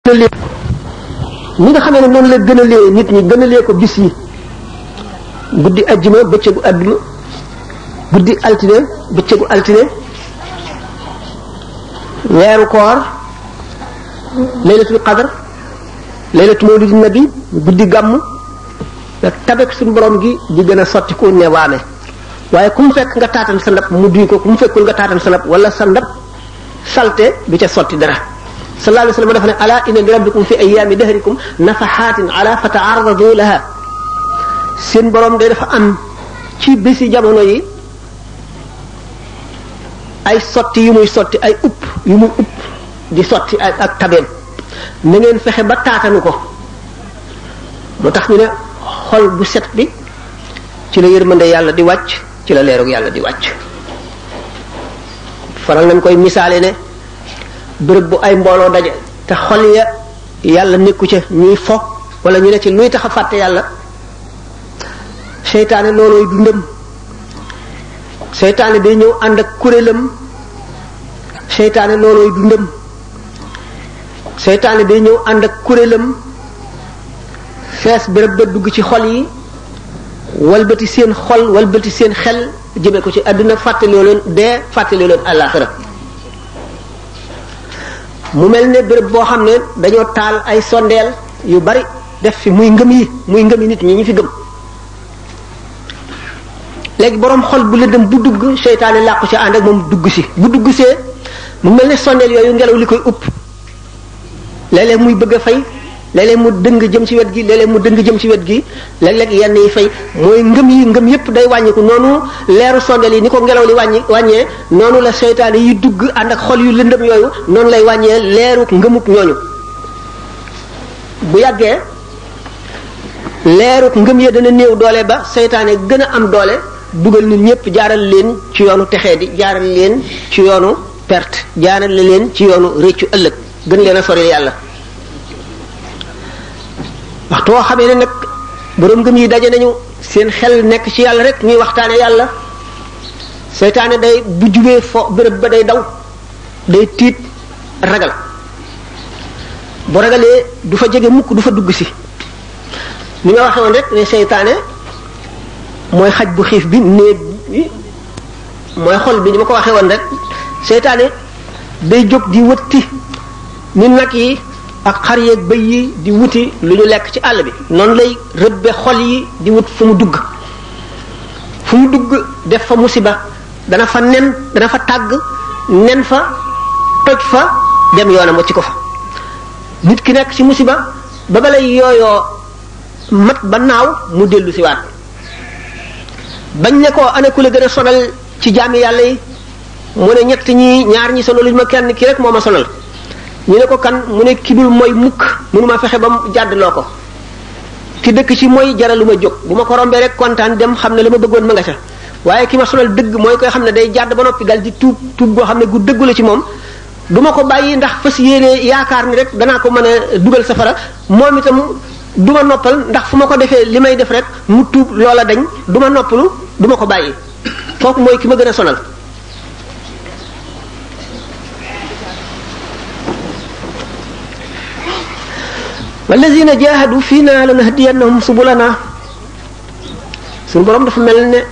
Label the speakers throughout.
Speaker 1: ñi nga xamee ne noonu la gënalee nit ñi gënalee ko bis yi guddi ajjuma bëccëgu àdduma guddi altine bëccëgu altine weeru koor laylatul qadr laylatu mawlidin nabi guddi gàmm ak tabek suñu borom gi di gën a sotti ku ne waame waaye ku mu fekk nga taatan sa ndab mu duy ko ku mu fekkul nga taatan sa ndab wala sa ndab salte du ca sotti dara sallallahu alayhi wa sallam dafa ne ala inna li rabbikum fi ayyaami dahrikum nafaxaatin ala fata'arradu laha seen borom day dafa am ci bési jamono yi ay sotti yu muy sotti ay yu muy upp di sotti ak tabeem na ngeen fexe ba taatanu ko moo tax ñu ne xol bu set bi ci la yërmande yàlla di wàcc ci la leerug yàlla di wàcc faral nañ koy misaale ne bërëb bu ay mbooloo daje te xol ya yàlla nekku ca ñuy fo wala ñu ne ci luy tax a fàtte yàlla seytaane loolooy dundam seytaane day ñëw ànd ak kuréelam seytaane loolooy dundam seytaane day ñëw ànd ak kuréelam fees bërëb ba dugg ci xol yi walbati seen xol walbati seen xel jëme ko ci àdduna fàttaloo leen dee fàttaloo leen àllaaxira mu mel ne béréb boo xam ne dañoo taal ay sondeel yu bari def fi muy ngëm yi nit ñi fi gëm léegi boroom xol bu lëndëm bu dugg seytaane làqu ci ànd ak moom dugg si bu dugg see mu mel ne sondeel yooyu ngelaw li koy upp léeg-léeg muy bëgg a fay léeg-léeg mu dëng jëm ci wet gi léeg-léeg mu dëng jëm ci wet gi léeg-léeg yenn yi fay mooy ngëm yépp day wàññiku noonu leeru sondeel yi ni ko ngelaw li wàññee noonu la seytaane yi dugg ànd ak xol yu lëndëm yooyu noonu lay wàññee leeru ngëmub ñooñu bu yàggee leeru ngëm ya dana néew doole ba seytaane gën a am doole dugal nit ñépp jaaral leen ci yoonu texee di jaaral leen ci yoonu perte jaaral leen ci yoonu réccu ëllëg gën leen a sori yàlla waxtu woo xamee ne nag boroom gëm yi daje nañu seen xel nekk ci yàlla rek ñuy waxtaane yàlla seytaane day bu jubee fo bërëb ba day daw day tiit ragal bu ragalee du fa jege mukk du fa dugg si ni nga waxee woon rek ne seytaane mooy xaj bu xiif bi néeg bi mooy xol bi ni ma ko waxee woon rek seytaane day jóg di wëtti ni nag yi ak xar yeeg bëy yi di wuti lu ñu lekk ci àll bi noonu lay rëbbe xol yi di wut fu mu dugg def fa musiba dana fa tàgg nen fa toj fa dem yoonam wacci ko fa nit ki nekk ci musiba ba balay yooyoo mat ba naaw mu dellu si waat bañ ne ko ana ku la gën a sonal ci jaami yàlla yi mu ne ñaar ñi sonaluñ ma kenn ki rek moo ma sonal ñu ne ko kan mu ne ki dul mooy mukk mënuma fexe ba mu jàddloo ko ki dëkk ci mooy jaralu ma jóg bu ma ko rombee rek kontaan dem xam ne la ma bëggoon ma nga ca waaye ki ma sonal dëgg mooy koy xam ne day jàdd ba noppi dal di tuub goo xam ne gu dëggu la ci moom du ma ko bàyyi ndax fas yéene yaakaar ni rek danaa ko mën a dugal safara moom itam du ma noppal ndax fu ma ko defee li may def rek mu tuub loola dañ du ma noppalu du ma ko bàyyi kooku mooy ki ma gën a sonal wallazina jahadu fiina lanahdiyannahum subulana suñu borom dafa mel ne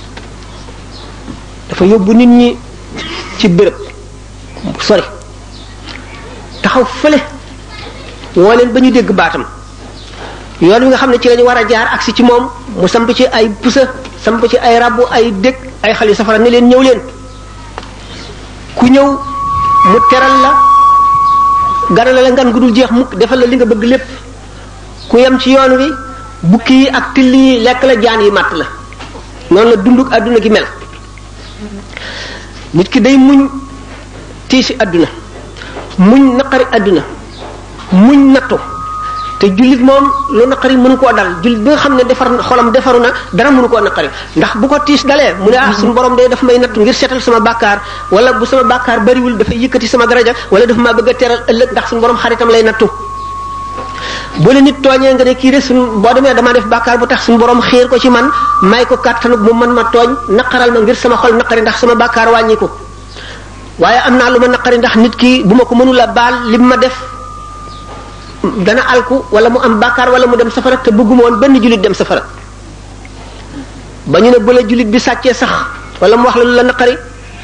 Speaker 1: dafa yóbbu nit ñi ci béréb sori taxaw fële woo leen ba ñu dégg baatam yoon wi nga xam ne ci lañu war a jaar agsi ci moom mu samp ci ay pusa samp ci ay rabbu ay dëkk ay xali safara ne leen ñëw leen ku ñëw mu teral la ganale la ngan gu dul jeex mukk defal la li nga bëgg lépp ku yem ci yoon wi bukki yi ak till yi lekk la jaan yi màtt la noonu la dunduk àdduna gi mel nit ki day muñ tiisi àdduna muñ naqari àdduna muñ nattu te jullit moom lu naqari mënu koo dal jullit bi nga xam ne xolam defaru na dara mënu koo naqari ndax bu ko tiis dalee mu ne suñu borom de daf may nattu ngir seetal sama bàkkaar wala bu sama bàkkaar bariwul dafay yëkkati sama daraja wala dafa maa bëgg a teral ëllëg ndax suñu borom xaritam lay nattu bu la nit tooñee nga ne kii de boo demee damaa def bàkkaar bu tax suñu borom xiir ko ci man may ko kàttanu mu mën ma tooñ naqaral ma ngir sama xol naqari ndax sama bàkkaar wàññi ko waaye am naa lu ma naqari ndax nit ki bu ma ko mënula baal lim ma def dana alku wala mu am bàkkaar wala mu dem safara te bëgguma woon benn jullit dem safara ba ñu ne bu la jullit bi sàccee sax wala mu wax la lu la naqari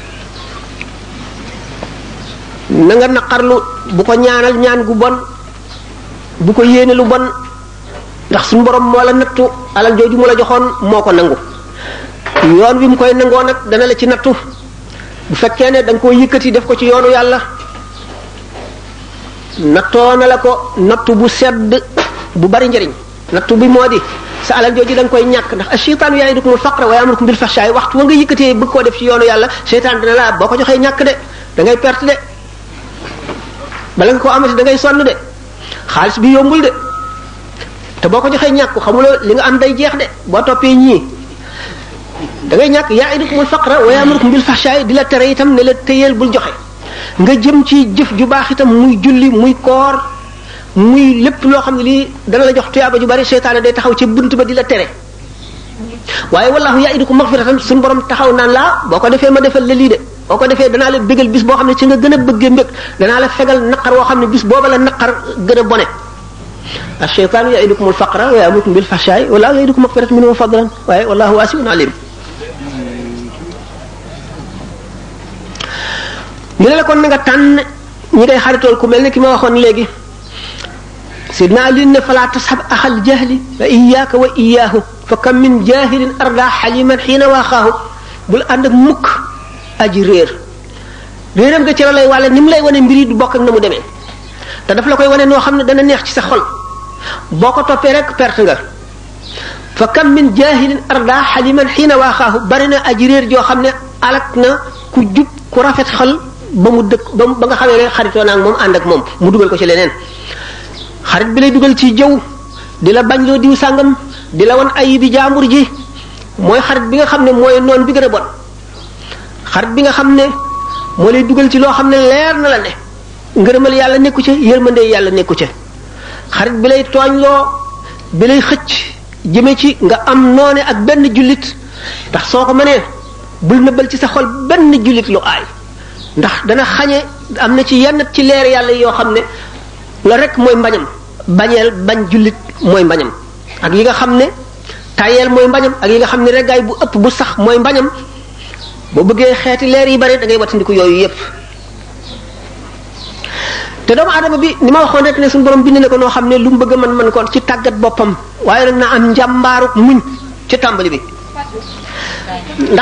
Speaker 1: na nga naqarlu bu ko ñaanal ñaan gu bon bu ko yéene lu bon ndax suñu borom moo la nattu alal jooju mu la joxoon moo ko nangu yoon wi mu koy nangoo nag dana la ci nattu bu fekkee ne da nga koo yëkkati def ko ci yoonu yàlla nattoo na la ko nattu bu sedd bu bari njëriñ nattu bi moo di sa alal jooju da nga koy ñàkk ndax ash-shaytaanu ya'idukumul faqra wa ya'murukum bil fahshaa'i waxtu wa nga yëkkatee bëgg koo def ci yoonu yàlla seytaan dina la boo ko joxee ñàkk de da ngay perte de bala nga ko amati da ngay sonn de xaalis bi yombul de te boo ko joxee ñàkk xamuloo li nga am day jeex de boo toppee ñii da ngay ñàkk ya'idukumul faqra wa ya'murukum bil fahshaa'i di la tere itam ne la téyeel bul joxe nga jëm ci jëf ju baax itam muy julli muy koor muy lépp loo xam ne lii dana la jox tuyaaba ju bari seytaane day taxaw ci bunt ba di la tere waaye wallahu ya'idukum maghfiratan suñu borom taxaw naan laa boo ko defee ma defal la lii de boo ko defee danaa la bégal bis boo xam ne ci nga gën a bëggee mbég danaa la fegal naqar woo xam ne bis booba la naqar gën a bone ash-shaytaanu ya'idukumul faqra wa ya'murukum bil fahshaa'i wallahu ya'idukum maghfiratan minhu wa fadlan waaye wallahu waasi'un alim ñu ne la kon na nga tànn ñi ngay xaritool ku mel ne ki ma waxoon léegi sidna Ali ne fala tashab axal jahli wa iyyaka wa iyyahu fa kam min jahilin arda xaliman xiina waaxaahu bul ànd ak mukk aji réeram nga ci la lay wàlle ni mu lay wane mbir yi du bokk ak na mu demee te daf la koy wane noo xam ne dana neex ci sa xol boo ko toppee rek perte nga fa kam min jahilin arda xaliman xiina waaxaahu bari na aji réer joo xam ne alak na ku jub ku rafet xol ba mu dëkk ba nga xamee ne xaritoo naa ak moom ànd ak moom mu dugal ko ci leneen xarit bi lay dugal ci jëw di la bañ loo diw sàngam di la wan ayibi jaambur ji mooy xarit bi nga xam ne mooy noon bi gën a bon xarit bi nga xam ne moo lay dugal ci loo xam ne leer na la ne ngërëmal yàlla nekku ca yërmande yàlla nekku ca xarit bi lay tooñloo bi lay xëcc jëme ci nga am noone ak benn jullit ndax soo ko mënee bul nëbbal ci sa xol benn jullit lu aay ndax dana xañe am na ci yenn ci leer yàlla yoo xam ne la rek mooy mbañam bañeel bañ jullit mooy mbañam ak yi nga xam ne tayeel mooy mbañam ak yi nga xam ne reggaay bu ëpp bu sax mooy mbañam boo bëggee xeeti leer yi bari da ngay wattandiku yooyu yépp te doomu aadama bi ni ma waxoon rek ne suñu borom bind na ko noo xam ne lu mu bëgg man ko ci tàggat boppam waaye nag na am njàmbaaruk muñ ci tàmbali bi ndax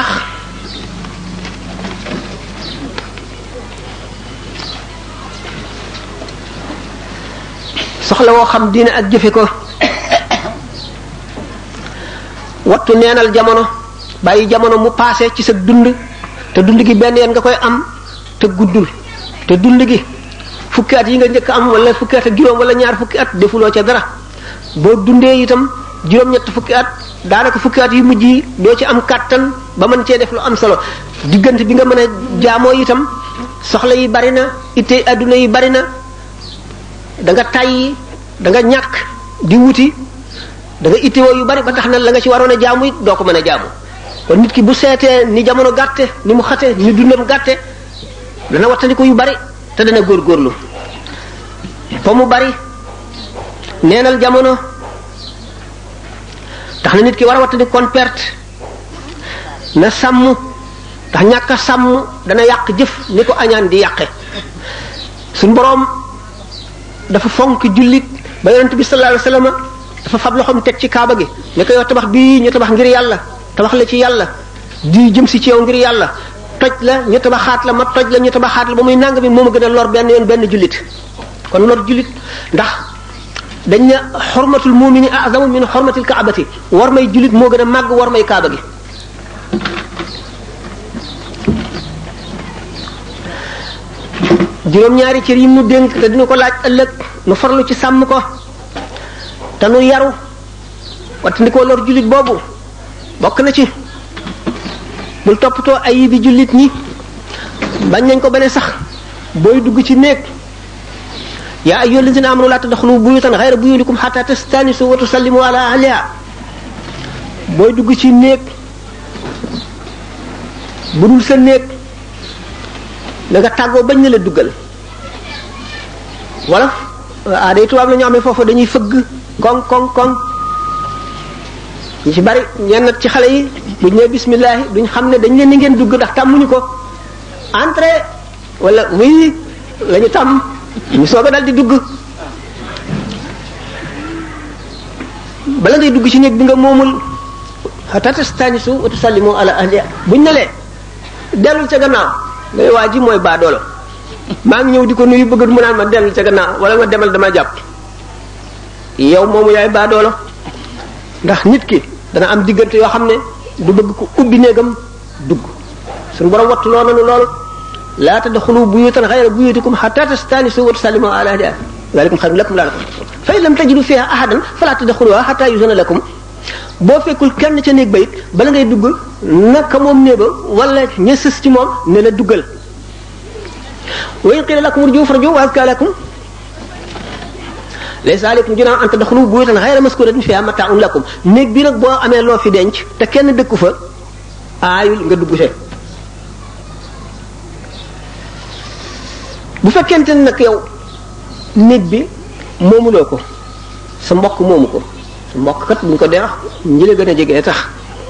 Speaker 1: soxla woo xam diine ak jëfe ko wattu neenal jamono bàyyi jamono mu paase ci sa dund te dund gi benn yoon nga koy am te guddul te dund gi fukki at yi nga njëkk am wala fukki at ak juróom wala ñaar fukki at defuloo ca dara boo dundee itam juróom-ñett fukki at daanaka fukki at yu mujj yi doo ci am kàttan ba mën cee def lu am solo diggante bi nga mën a jaamoo itam soxla yi bari na ittey adduna yi bari na da nga tàyyi da nga ñàkk di wuti da nga ittewoo yu bari ba tax na la nga ci waroon a jaamu it doo ko mën a jaamu kon nit ki bu seetee ni jamono gàtte ni mu xate ni dundam gàtte dana wattandiku yu bari te dana góorgóorlu fa mu bari neenal jamono tax na nit ki war a wattandiku kon perte na sàmm tax ñàkk a sàmm dana yàq jëf ni ko añaan di yàqe suñ boroom dafa fonk jullit ba yonent bi sallallahu alayhi wasallam dafa fab loxoom teg ci kaaba gi ne ko yow tabax bii ñu tabax ngir yàlla tabax la ci yàlla di jëm si ci yow ngir yàlla toj la ñu tabaxaat la ma toj la ñu tabaxaat la ba muy nang bi moom a gën a lor benn yoon benn jullit kon lor jullit ndax dañ ne xormatul mumini azamu min xormatil kaabati war may jullit moo gën a màgg war may kaaba gi juróom-ñaari cër yi mu dénk te dina ko laaj ëllëg nu farlu ci sàmm ko te nu yaru wattandikoo lor jullit boobu bokk na ci bul toppatoo ay bi jullit ñi bañ nañ ko ba ne sax booy dugg ci néeg yaa ayyuhal lazina amanu laa tadxulu buyutan ghayra buyutikum hatta tastanisu wa tusallimu ala ahliha booy dugg ci néeg bu dul sa néeg na nga tàggoo bañ na la duggal wala day tubaab la ñu amee foofu dañuy fëgg koŋ koŋ koŋ ñu ci bari ñenn ci xale yi buñ ne bismillah duñ xam ne dañ leen ni ngeen dugg ndax tàmmuñu ko entrée wala oui la ñu tàmm ñu soog a dal di dugg bala ngay dugg ci néeg bi nga moomul hatta tastanisu wa tusallimu ala ahliha buñ ne lee dellul ca gannaaw ngay waa ji mooy baadoolo maa ngi ñëw di ko nuyu bëgg mu naan ma dellul ca gannaaw wala nga demal dama jàpp yow moomu yaay baadoolo ndax nit ki dana am diggante yoo xam ne du bëgg ko ubbi néegam dugg suñu borom wattu loo nanu loolu laa tadxulu buyutan ghayra buyutikum hatta tastanisu wa tusallimu ala ahliha zalikum khayrun lakum la'allakum fa in lam tajidu fiha ahadan fala tadxuluha hatta yuzana lakum boo fekkul kenn ca néeg ba it bala ngay dugg naka moom néeg ba wala ña sës ci moom ne la duggal wa in qila lakum urju farju wa azka lakum laysa alaykum junahun an tadkhulu buyutan ghayra maskuratin fiha mata'un lakum néeg bi nag boo amee loo fi denc te kenn dëkku fa aayul nga dugg see bu fekkente ne nag yow néeg bi moomuloo ko sa mbokk moomu ko sa mbokk kat buñ ko dee wax ñi la gën a jege tax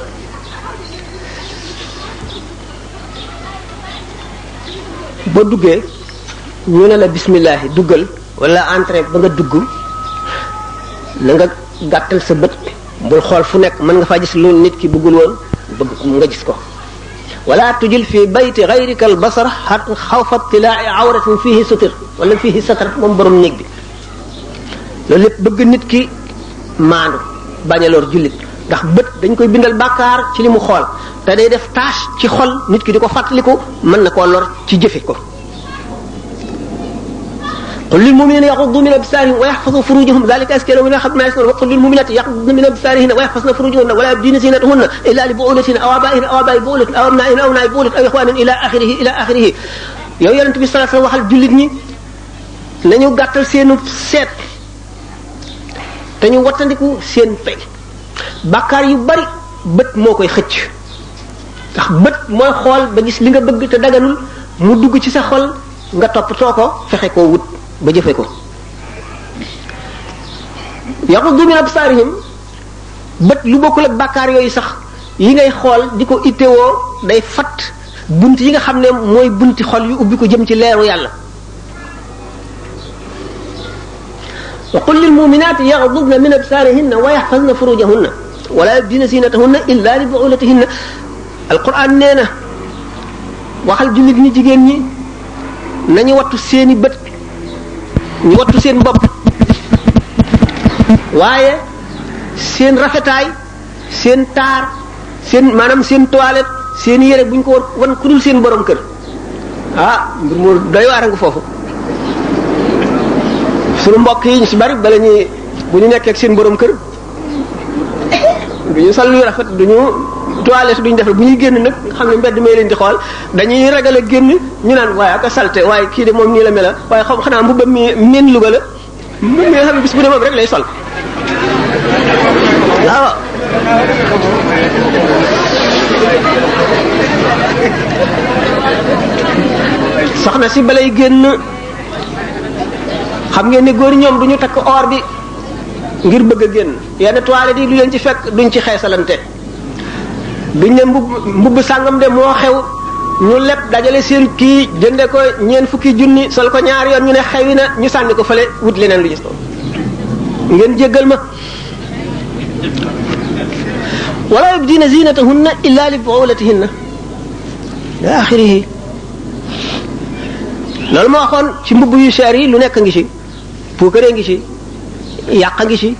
Speaker 1: boo duggee ñu ne la bismillah duggal wala entrée ba nga dugg na nga gàttal sa bët bul xool fu nekk mën nga faa gis lu nit ki bëggul woon bëgg nga gis ko wala tujil fi bayti ghayrika al basar xawfa tilaa'i awratin fihi sutir wala fihi satar moom borom néeg bi loolu lépp bëgg nit ki maandu bañ a lor jullit ndax bët dañ koy bindal bàkkaar ci li mu xool te day def tâche ci xol nit ki di ko fàttaliku mën na koo lor ci jëfe ko qul lil mu'minina yaghuddu min absarihim wa yahfazu furujahum dhalika azka lahum min ma yasnun wa qul lil mu'minati yaghuddna min absarihinna wa yahfazna furujahunna wa la yubdina zinatahunna illa li bu'ulatihinna aw aba'ihinna aw aba'i bu'ulatin aw abna'ihina aw abna'i bu'ulatin aw ikhwanin ila akhirih yow yonent bi sallallahu alayhi wasallam waxal jullit ñi nañu gàttal seenu seet te ñu wattandiku seen fay bàkkaar yu bari bët moo koy xëcc ndax bët mooy xool ba gis li nga bëgg te daganul mu dugg ci sa xol nga toppatoo ko fexe koo wut ba jëfe ko yaghuddu min absarihim bët lu bokkul ak bàkkaar yooyu sax yi ngay xool di ko ittewoo day fat bunt yi nga xam ne mooy bunti xol yu ubbi ko jëm ci leeru yàlla wa qul lil mu'minati yaghdudna min absarihinna wa yahfazna furujahunna wa la yubdina zinatahunna illa li bu'ulatihinna alquran nee na waxal jullit ñi jigéen ñi nañu wattu seeni bët ñu wattu seen bopp waaye seen rafetaay seen taar seen maanaam seen toilette seen yére bu ñu ko wan ku dul seen borom kër ah mbir mu doy waar nga foofu sunu mbokk yi ñu ci bari bala ñuy bu ñu nekkee ak seen borom kër du ñu sol lu rafet du ñu toilette duñ defal bu ñuy génn nag nga xam ne mbedd may leen di xool dañuy ragal a génn ñu naan waaye ak a salte waaye kii de moom nii la mela waaye xam xanaa mbubbam mi miin Louga la mi nga xam ne bis bu ne moom rek lay sol waaw soxna si balay génn xam ngeen ne góor ñoom duñu takk or bi ngir bëgg a génn yenn toilette yi lu leen ci fekk duñ ci xeesalante duñ ne mbubb sàngam de moo xew ñu lepp dajale seen kii jënde ko ñeent fukki junni sol ko ñaari yoon ñu ne xewi na ñu sànni ko fële wut leneen lu gis ko ngeen jéggal ma wala yubdina zinatahunna illa li bu'ulatihinna ila axirihi loolu ma waxoon ci mbubb yu cher yi lu nekk ngi ci puukare ngi ci yàq ngi ci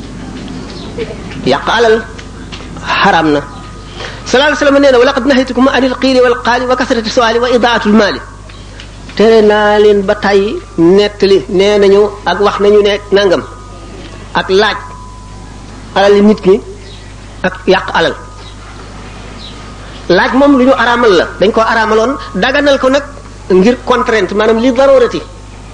Speaker 1: yàq alal xaram na sallallahu alayhi wasallam nee na wa laqad nahaytukum anil qiili wal qaali wa kasrati su'aali wa idaatul maali tere naa leen ba tey nettali nee nañu ak wax nañu ne nangam ak laaj alal nit ki ak yàq alal laaj moom lu ñu araamal la dañ ko araamaloon daganal ko nag ngir contrainte maanaam li darurati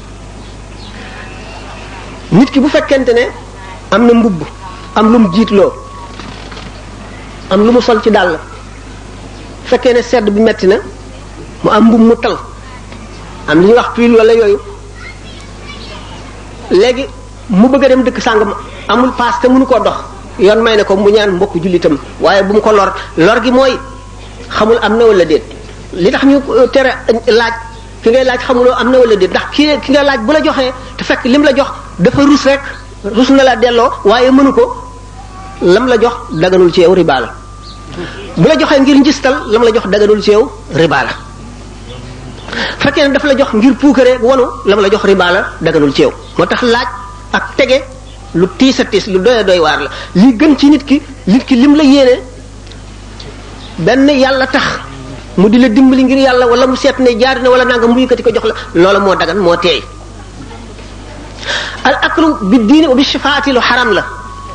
Speaker 1: nit ki bu fekkente ne am na mbubb am lu mu jiitloo am lu mu sol ci dàll fekkee ne sedd bi metti na mu am mbubb mu tal am li ñuy wax tuile wala yooyu léegi mu bëgg a dem dëkk sàngam amul paas te mënu koo dox yoon may ne ko mu ñaan mbokk jullitam waaye bu mu ko lor gi mooy xamul am na wala déet li tax ñu tere laaj ki ngay laaj xamuloo am na wala déet ndax ki nga laaj bu la joxee te fekk lim la jox dafa rus rek rus na la delloo waaye mënu ko lam la jox daganul ci yow riba la bu la joxee ngir njistal lam la jox daganul ci yow riba la fekkee ne dafa la jox ngir puukare wanu lam la jox riba la daganul ci yow moo tax laaj ak tege lu tiis a tiis lu doy doy waar la li gën ci nit ki lim la yéene benn yàlla tax mu di la dimbali ngir yàlla wala mu seet ne jaar na wala nanga mu yëkkati ko jox la loola moo dagan moo teey al aklu bi diini wa bi shifaati lu xaram la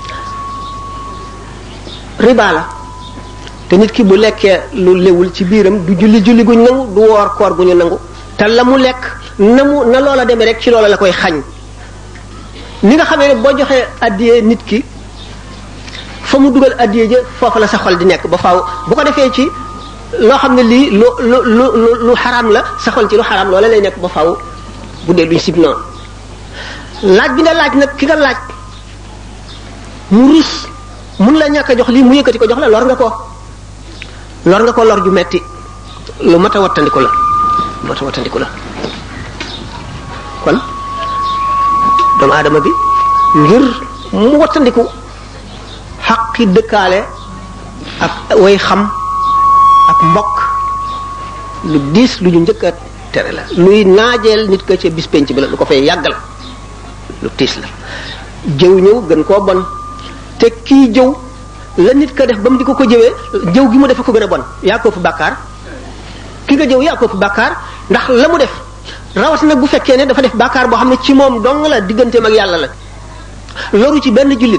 Speaker 1: riba la te nit ki bu lekkee lu lewul ci biiram du julli guñ nangu du woor koor gu ñu nangu te la mu lekk na loola demee rek ci loola la koy xañ ni nga xamee ne boo joxee addiyee nit ki fa mu dugal addiyee ja foofu la sa xol di nekk ba faaw bu ko defee ci loo xam ne lii lu xaraam la sa xol ci lu xaraam loola lay nekk ba faaw bu dee duñ sib noonu laaj bi nga laaj nag ki nga laaj mu rus mun la ñàkk a jox lii mu yëkkati ko jox la lor nga ko lor ju metti lu mat a wattandiku la kon doomu aadama bi ngir mu wattandiku xaqi dëkkaale ak way xam ak mbokk lu diis lu ñu njëkk a tere la luy naajeel nit ko ci bis penc bi la lu ko fay yàggal lu tiis la jëw ñëw gën koo bon te kii jëw la nit ko def ba mu di ko jëwee jëw gi mu defe ko gën a bon yaa ko fi bàkkaar ki nga jëw yaa ko fi bàkkaar ndax la mu def rawat nag bu fekkee ne dafa def bàkkaar boo xam ne ci moom dong la digganteem ak yàlla la loru ci benn jullit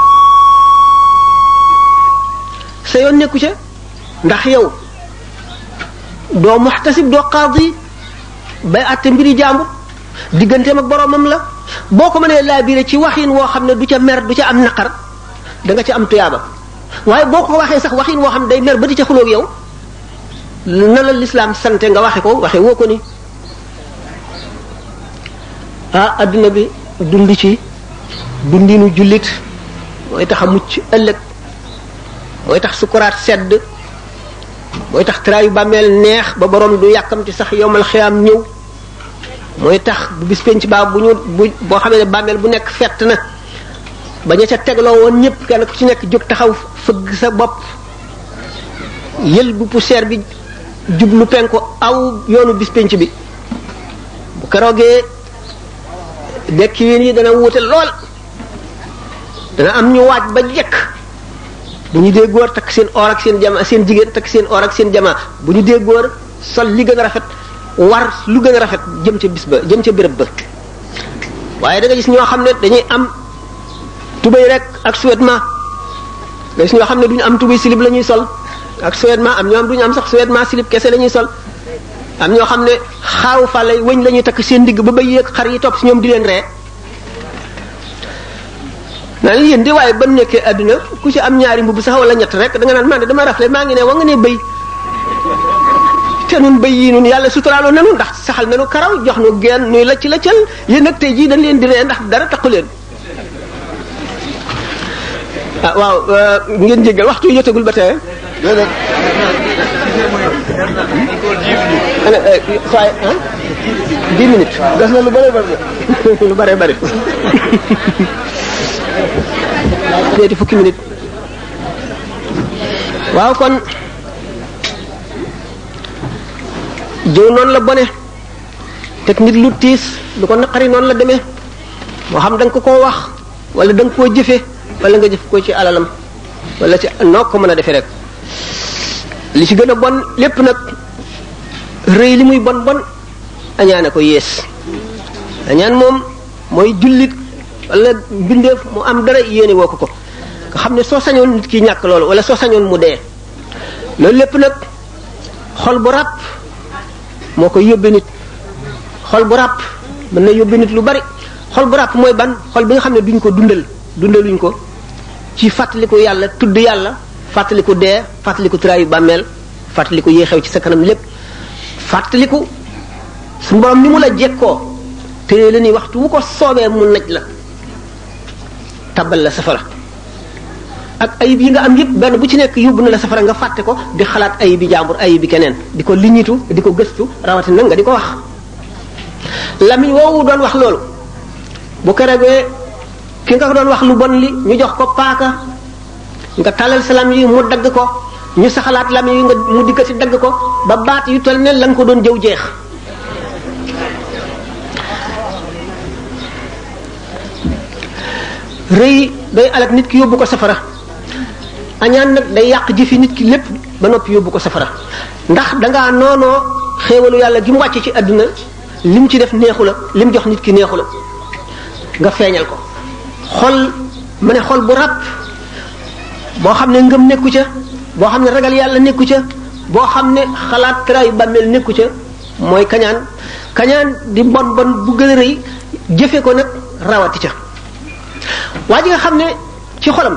Speaker 1: sa yoon nekku ca ndax yow doo muxtasib doo qaadi bay àtte mbiri jàmbur digganteem ak boromam la boo ko mënee laabire ci waxin woo xam ne du ca mer du ca am naqar da nga ca am tuyaaba waaye boo ko waxee sax waxin woo xam ne day mer ba di ca xuloog yow na la lislaam sante nga waxe woo ko ni adduna bi dund ci dundinu jullit mooy tax a mucc ëllëg mooy tax sukuraat sedd mooy tax traayu bàmmeel neex ba borom du yàkkamti sax yowmal xiyaam ñëw mooy tax bu bis penc baa boo xamee ne bàmmeel bu nekk fett na ba ña ca tegloo woon ñëpp kenn ku ci nekk jóg taxaw fëgg sa bopp yël bu poussière bi jublu penku aw yoonu bis penc bi bu keroogee dekki ween yi dana wuute lool dana am ñu waaj ba jekk bu ñu dee góor takk seen or ak seen jama seen jigéen takk seen or ak seen jama bu ñu dee góor sol li gën a rafet war lu gën a rafet jëm ca bis ba jëm ca béréb ba waaye da nga gis ñoo xam ne dañuy am tubéy rek ak sous-vêtement nga gis ñoo xam ne duñu am tubéy silib la ñuy sol ak sous-vêtement am ñoo am duñu am sax sous-vêtement silib kese la ñuy sol am ñoo xam ne xaaru fàlle wëñ la ñuy takk seen digg ba bay yéeg xar yi topp si ñoom di leen ree naa leen yéen di waaye ba nekkee àdduna ku ci am ñaari mbubb sax wala ñett rek da nga naan man de dama rafle maa ngi ne wa nga ne bëy te nun bëy yi nun yàlla suturaaloo nanu ndax saxal nanu karaw jox nu geen nuy lacc laccal yéen nag tey jii dañ leen di ree ndax dara taqu leen waaw ngeen jéggal waxtu yu jotagul ba tey waaye 10 minutes des na lu bare bari lu bare bari ñetti fukki minutes waaw kon jëw noonu la bone te nit lu tiis lu ko naqari noonu la demee moo xam da nga ko koo wax wala da nga koo jëfe wala nga jëf ko ci alalam wala ci noo ko mën a defee rek li ci gën a bon lépp nag rëy li muy bon bon añaane ko yées añaan moom mooy jullit wala mbindeef mu am dara yéene woo ko nga xam ne soo sañoon nit ki ñàkk loolu wala soo sañoon mu dee loolu lépp nag xol bu ràpp moo koy yóbbe nit xol bu ràpp mën na yóbbe nit lu bari xol bu ràpp mooy ban xol bi nga xam ne duñ ko dundaluñ ko ci fàttaliku yàlla tudd yàlla fàttaliku dee fàttaliku traayu bàmmeel fàttaliku yee xew ci sa kanam lépp fàttaliku suñu borom ni mu la jekkoo téye la ni waxtu wu ko soobee mu naj la tabal la safara ak ayib yi nga am yëpp benn bu ci nekk yóbbu na la safara nga fàtte ko di xalaat ayibi jàmbur ayibi keneen di ko liñitu di ko gëstu rawatina nga di ko wax lamiñ woowu doon wax loolu bu keregee ki nga doon wax lu bon li ñu jox ko paaka nga talal sa lamiñ yi mu dagg ko ñu saxalaat lamiñ yi nga mu dikkati dagg ko ba baat yu toll ne la nga ko doon jëw jeex rëy day alak nit ki yóbbu ko safara añaan nag day yàq jëfi nit ki lépp ba noppi yóbbu ko safara ndax dangaa noonoo xéewalu yàlla gi mu wàcce ci àdduna lim ci def neexu la lim jox nit ki neexu la nga feeñal ko xol ma ne xol bu ràpp boo xam ne ngëm nekku ca boo xam ne ragal yàlla nekku ca boo xam ne xalaat taraayu bàmmeel nekku ca mooy kañaan kañaan di bon bon bu gën a rëy jëfe ko nag rawati ca waa ji nga xam ne ci xolam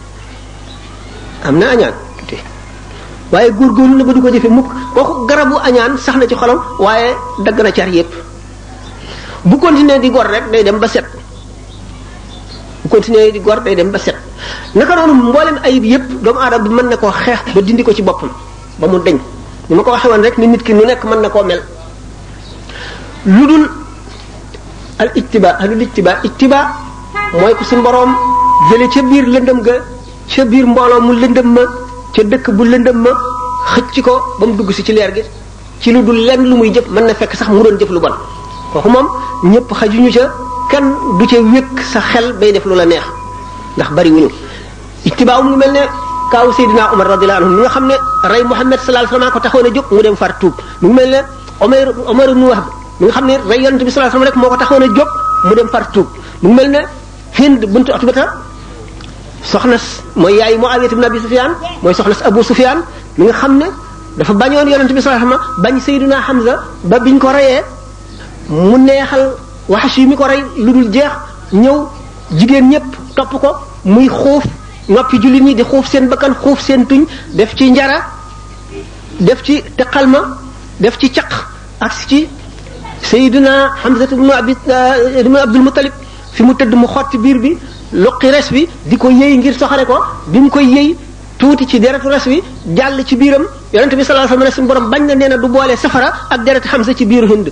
Speaker 1: am na añaan tuuti waaye góorgóorlu na ba du ko jëfe mukk kooku garabu añaan sax na ci xolam waaye dagg na car yépp bu continuer di gor rek day dem ba set bu continuer di gor day dem ba set naka noonu mboolem ayib yépp doomu aadama bi mën na koo xeex ba dindi ko ci boppam ba mu deñ ni ma ko waxee woon rek ni nit ki nu nekk mën na koo mel lu dul al ittiba mooy ko suñu boroom jële ca biir lëndëm ga ca biir mbooloo mu lëndëm ma ca dëkk bu lëndëm ma xëcc ko ba mu dugg si ci leer gi ci lu dul lenn lu muy jëf mën na fekk sax mu doon jëf lu bon kooku moom ñëpp xajuñu ca kenn du ca wékk sa xel bay def lu la neex ndax bari wuñu ittibaa mu ngi mel ne kaaw Seydina Omar radiyallahu anhu mi nga xam ne rey Muhammad sallallahu alayhi wasallam ko taxoon a jóg mu dem far tuub mu ngi mel ne Omar ibn Wahb mi nga xam ne rey yonent bi sallallahu alayhi wasallam rek moo ko taxoon a jóg mu dem far tuub mu ngi mel ne Hind bintu Utbata soxna mooy yaay Muawiya ibn Abi Sufyan mooy soxna Abu Sufyan mi nga xam ne dafa bañoon yonent bi sallallahu alayhi wasallam bañ Seydina Hamza ba biñ ko reyee mu neexal Wahshi mi ko rey lu dul jeex ñëw jigéen ñëpp topp ko muy xuuf noppi jullit ñi di xuuf seen bakkan xuuf seen tuñ def ci njara def ci teqalma def ci caq ak ci Seydina Hamza ibn Abdul Muttalib fi mu tëdd mu xotti biir bi luqi res bi di ko yëy ngir soxare ko bi mu koy yëy tuuti ci deretu res bi jàll ci biiram yonent bi sallallahu alayhi wasallam suñu borom bañ na nee na du boole safara ak deretu Hamza ci biiru Hind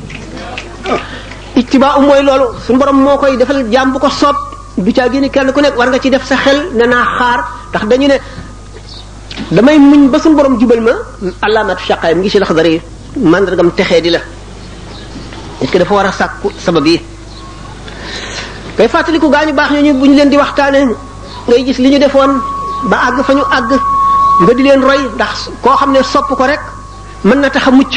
Speaker 1: ittibaa mooy loolu suñu borom moo koy defal jaam bu ko soob du caa génne kenn ku nekk war nga ci def sa xel ne naa xaar ndax dañu ne damay muñ ba suñu borom jubal ma alaamatu shaqaay mi ngi ci Laxdari mandargam texee di la nit ki dafa war a sàkku sabab yi kay fàttaliku gaañu baax ñooñu bu ñu leen di waxtaane ngay gis li ñu defoon ba àgg fa ñu àgg nga di leen roy ndax koo xam ne sopp ko rek mën na tax a mucc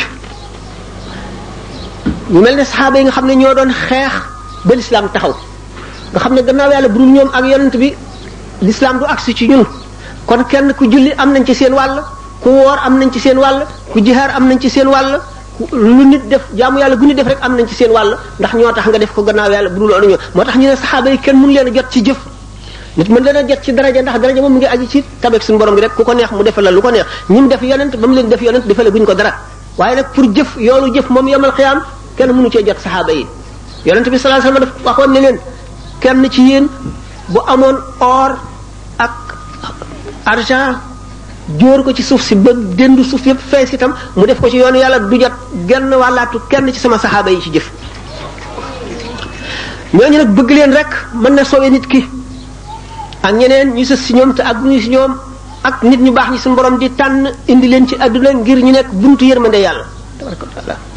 Speaker 1: ñu mel ne saxaaba yi nga xam ne ñoo doon xeex ba lislaam taxaw nga xam ne gannaaw yàlla bu dul ñoom ak yonent bi lislaam du agsi ci ñun kon kenn ku julli am nañ ci seen wàll ku woor am nañ ci seen wàll ku jihaar am nañ ci seen wàll lu nit def jaamu yàlla gu nit def rek am nañ ci seen wàll ndax ñoo tax nga def ko gannaaw yàlla bu dul loolu ñoo moo tax ñu ne saxaaba yi kenn mënu leen a jot ci jëf nit mën leen a jot ci daraja ndax daraja moom mu ngi aji ci tabeek suñu borom bi rek ku ko neex mu defal la lu ko neex ñi mu def yonent ba mu leen def yonent defale guñ ko dara waaye nag pour jëf yoolu jëf moom yomal xiyaam kenn mënu cee jot saxaaba yi yonent bi sallallahu alayhi wasallam daf waxoon ne leen kenn ci yéen bu amoon or ak argent jóor ko ci suuf si ba dendu suuf yëpp fees itam mu def ko ci yoonu yàlla du jot genn wàllaatu kenn ci sama saxaaba yi ci jëf ñooñu nag bëgg leen rek mën na soowee nit ki ak ñeneen ñu sës si ñoom te ak ñu si ñoom ak nit ñu baax ñi suñu borom di tànn indi leen ci àdduna ngir ñu nekk buntu yërmande yàlla tabaraka wa taala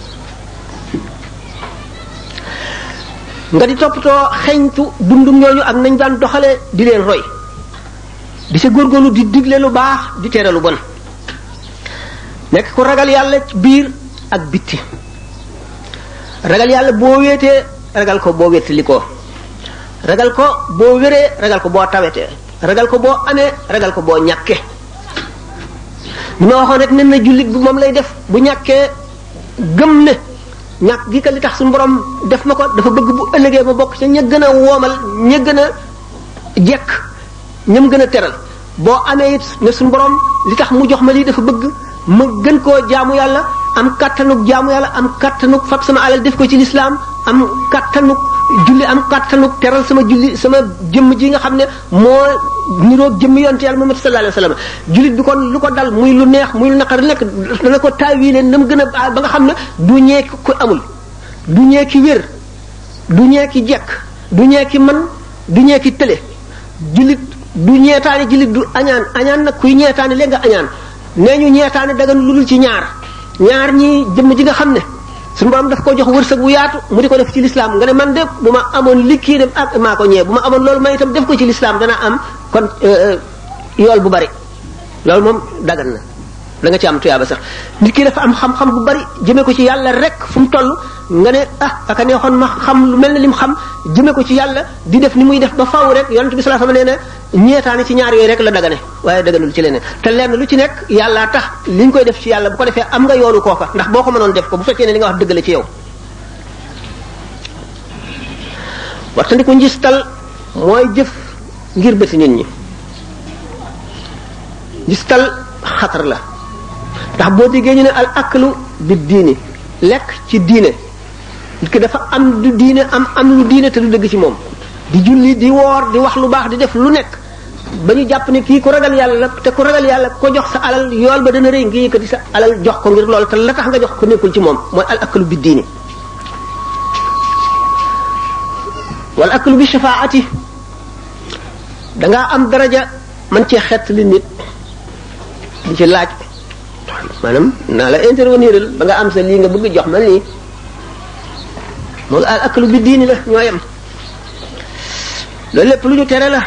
Speaker 1: nga di toppatoo xeñtu dundum ñooñu ak nañ daan doxale di leen roy di sa góorgóorlu di digle lu baax di tere lu bon nekk ku ragal yàlla ci biir ak bitti ragal yàlla boo wéetee ragal ko boo wéttali ko ragal ko boo wéree ragal ko boo tawetee ragal ko boo amee ragal ko boo ñàkkee li ma waxoon rek nen na jullit bi moom lay def bu ñàkkee gëm ne ñàkk gi ka li tax suñu borom def ma ko dafa bëgg bu ëllëgee ma bokk ca ña gën a woomal ña gën a jekk ñam gën a teral boo amee it ne suñu borom li tax mu jox ma lii dafa bëgg ma gën koo jaamu yàlla am kattanug jaamu yàlla am kattanug fab sama alal def ko ci lislaam am kattanuk julli am kattanuk teral sama julli sama jëmm ji nga xam ne moo niroog jëmm yonte yàlla Muhammad sallallahu alayhi wasallam jullit bi kon lu ko dal muy lu neex muy lu naqar nekk dana ko taawile na mu gën a ba nga xam ne du ñeeki ku amul du ñeeki wér du ñeeki jekk du ñeeki man du ñeeki tële jullit du ñeetaane jullit du añaan nag kuy ñeetaane léegi nga añaan nee ñu ñeetaane dagan lu dul ci ñaar ñi jëmm ji nga xam ne suñu borom daf ko jox wërsëg bu yaatu mu di ko def ci lislaam nga ne man de bu ma amoon liggéey dem ak maa ko ñëwee bu ma amoon loolu ma itam def ko ci lislaam dana am kon yool bu bari loolu moom dagan na da nga ci am tuyaaba sax nit ki dafa am xam-xam bu bari jëmee ko ci yàlla rek fu mu toll nga ne aka neexoon ma xam lu mel ne lim xam jëmee ko ci yàlla di def ni muy def ba faaw rek yonent bi sallallahu alayhi wasallam nee na ñeetaane ci ñaar yooyu rek la dagane waaye daganul ci leneen te lenn lu ci nekk yàllaa tax li ñu koy def ci yàlla bu ko defee am nga yoonu kooka ndax boo ko mënoon def ko bu fekkee ne li nga wax dëgg la ci yow waxtandiku njistal mooy jëf ngir bëti nit ñi njistal xatar la ndax boo déggee ñu ne al aklu bi diini lekk ci diine nit ki dafa am du diine am lu diine te du dëgg ci moom di julli di woor di wax lu baax di def lu nekk ba ñu jàpp ne kii ku ragal yàlla la te ku ragal yàlla ko jox sa alal yool ba dana rëy ngi yëkkati sa alal jox ko ngir loolu te la tax nga jox ko nekkul ci moom mooy al aklu bi diini wal aklu bi shafaati dangaa am daraja man cee xett li nit di ci laaj maanaam naa la intervenir ba nga am sa lii nga bëgg jox ma lii moom al aklu bi diini la ñoo yem loolu lépp lu ñu tere la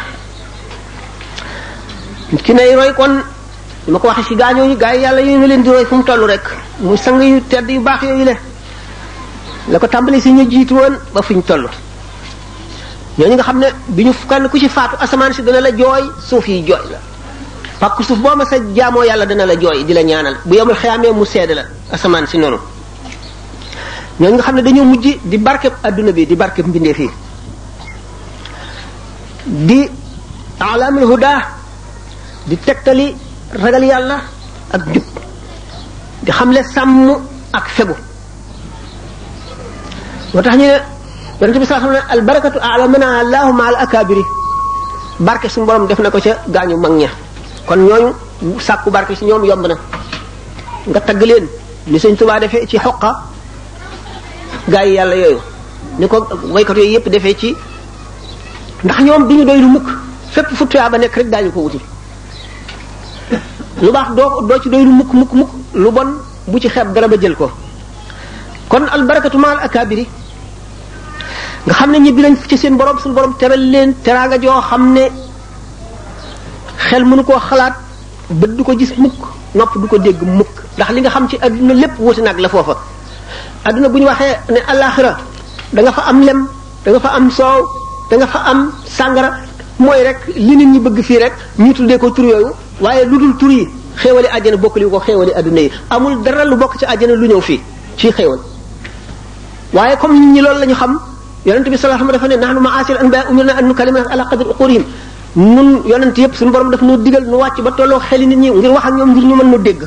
Speaker 1: ki nay roy kon li ma ko waxee ci gaañooñu gaa yi yàlla yooyu nga leen di roy fu mu toll rek muy sang yu tedd yu baax yooyu la ko tàmbali si ñu jiitu woon ba fu ñu toll ñooñu nga xam ne bi ñu kenn ku ci faatu asamaan si dana la jooy suuf yi jooy la pàkk suuf boo ma sa jaamoo yàlla dana la jooy di la ñaanal bu yemul xeyaamee mu seede la asamaan si noonu ñooñu nga xam ne dañoo mujj di barkeb adduna bi di barkeb mbindee fii di alamul huda di tegtali ragal yàlla ak jub di xamle sàmm ak fegu moo tax ñu ne yonente bi sallallahu alayhi wasallam al barakatu a'lamana allahu ma al akabiri barke suñu borom def na ko ca gaañu mag ña kon ñooñu sàkku barke ci ñoom yomb na nga tagg leen ni Sëñ Tuubaa defee ci xoqa gaa yi yàlla yooyu ni ko waykat yooyu yëpp defee ci ndax ñoom duñu doy lu mukk fépp fu tuyaa ba nekk rek daañu ko wuti lu baax doo ci doy lu mukk lu bon bu ci xeeb dara ba jël ko kon al barakatu ma al akabiri nga xam ne ñibbi nañ ci seen borom suñu borom teral leen teraanga joo xam ne xel mënu koo xalaat bët du ko gis mukk nopp du ko dégg mukk ndax li nga xam ci adduna lépp wuti nag la foofa adduna bu ñu waxee ne alaxira da nga fa am lem da nga fa am soow da nga fa am sàngara mooy rek li nit ñi bëgg fii rek ñu tuddee ko tur yooyu waaye lu dul tur yi xéewali àjjana bokkali ko xéewali adduna yi amul dara lu bokk ci àjjana lu ñëw fii ci xéewal waaye comme nit ñi loolu la ñu xam yonent bi sallallahu alayhi wasallam dafa ne nahnu ma'ashir anbiya umirna an nukallima ala qadri uqurihim nun yonent yëpp suñu borom daf nu digal nu wàcc ba tolloo xeli nit ñi ngir wax ak ñoom ngir ñu mën nu dégg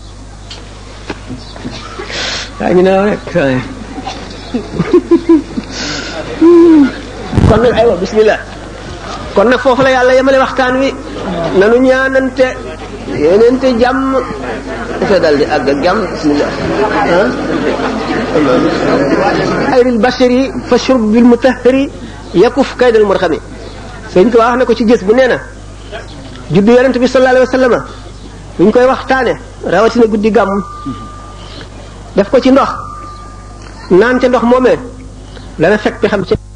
Speaker 1: waa ñu ne rek kon nag aywa bismillah kon nag foofu la yàlla yemale waxtaan wi nanu ñaanante yéenente jàmm dafa dal di àgg ak jàmm bismillah ayril bashari fa shurb bil mutahhari yakuf kaydal murxami sëñ ko wax na ko ci gës bu nee na juddu yonent bi sallallahu alayhi wasallam buñ koy waxtaane rawatina guddi gàmm def ko ci ndox naan ca ndox moomee dana fekk bi xam ci